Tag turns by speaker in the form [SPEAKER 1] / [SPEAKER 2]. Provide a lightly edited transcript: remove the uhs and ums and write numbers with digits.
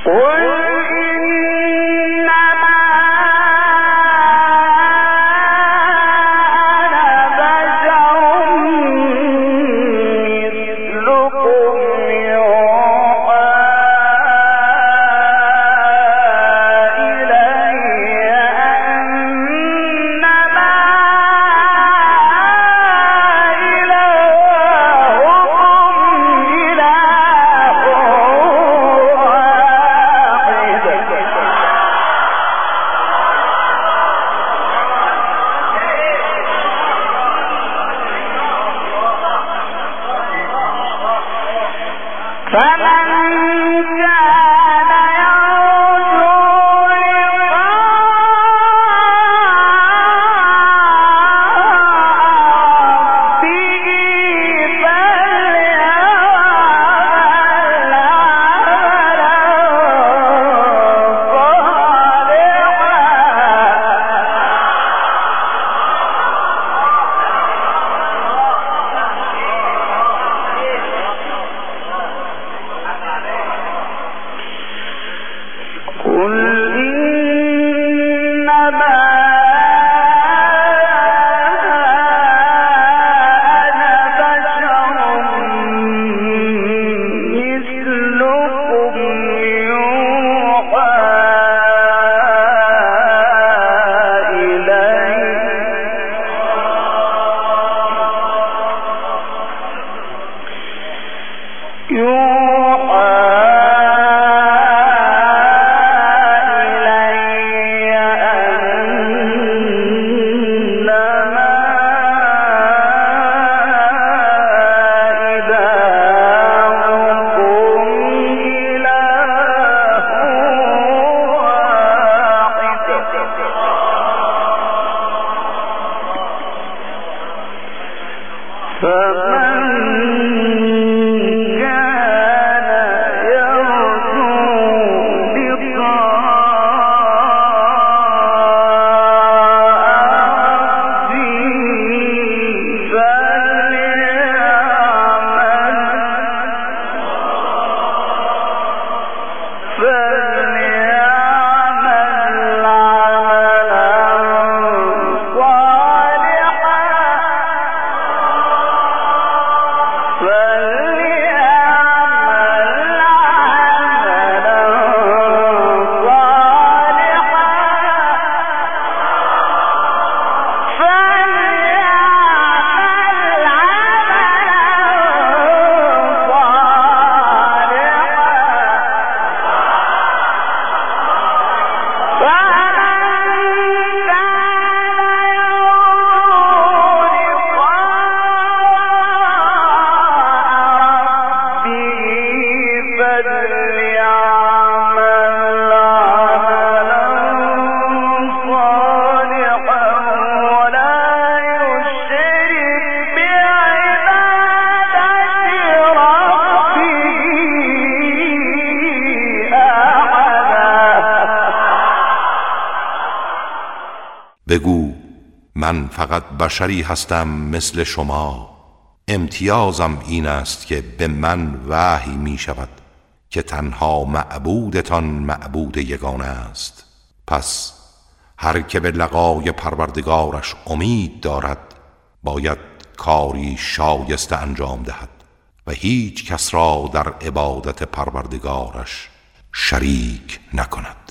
[SPEAKER 1] بگو من فقط بشری هستم مثل شما، امتیازم این است که به من وحی می شود که تنها معبودتان معبود یگانه است. پس هر که به لقای پروردگارش امید دارد باید کاری شایسته انجام دهد و هیچ کس را در عبادت پروردگارش شریک نکند.